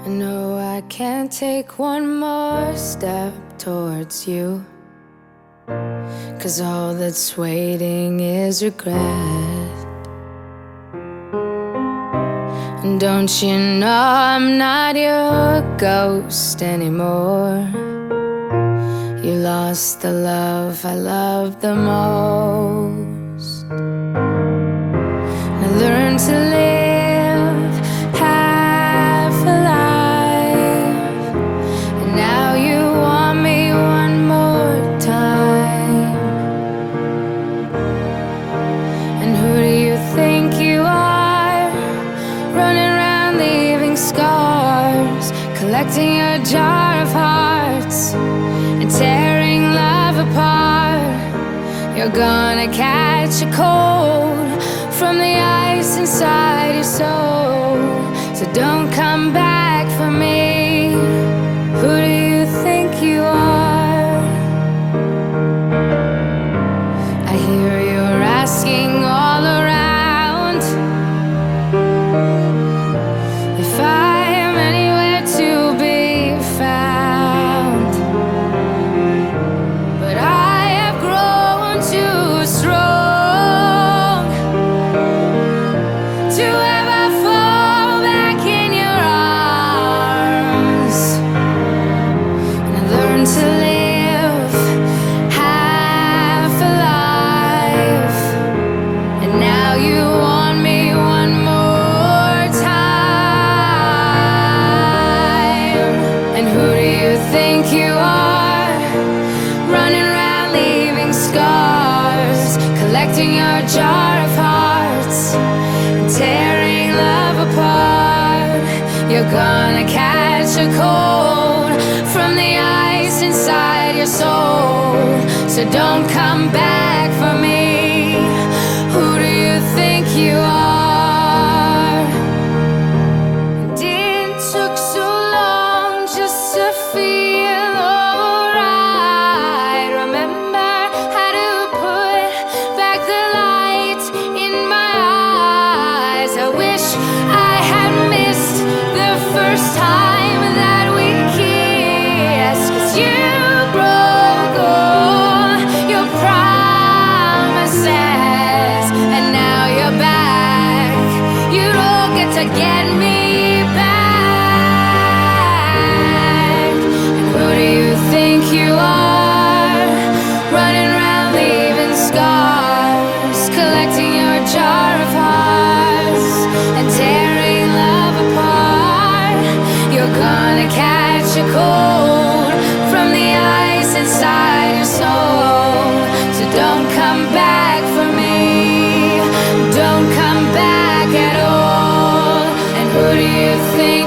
I know I can't take one more step towards you, 'cause all that's waiting is regret. And don't you know I'm not your ghost anymore? You lost the love I loved the most. And I learned to live half alive, and now you want me one more time. And who do you think you are, running around leaving scars, collecting your jar of hearts and tearing love apart? You're gonna catch a cold from the ice inside your soul. So don't come back for me. Who do you think you are? I hear you're asking all around if I am anywhere to be found. But I have grown too strong to ever fall back in your arms. And I learned to live half alive, and now you want me one more time. And who do you think you are, running around leaving scars, collecting your jar of hearts and tearing love apart? You're gonna catch a cold from the ice inside your soul. So don't come back for me. Who do you think you are? And it took so long just to feel alright. Remember how to put back the light in my eyes. I wish I had missed the first time that we kissed, 'cause you broke all your promises, and now you're back. You don't get to get me back. And who do you think you are, running around leaving scars, collecting your jar of hearts and tearing love apart? You're gonna catch a cold from the ice inside your soul. So don't come back for me. Don't come back at all. And who do you think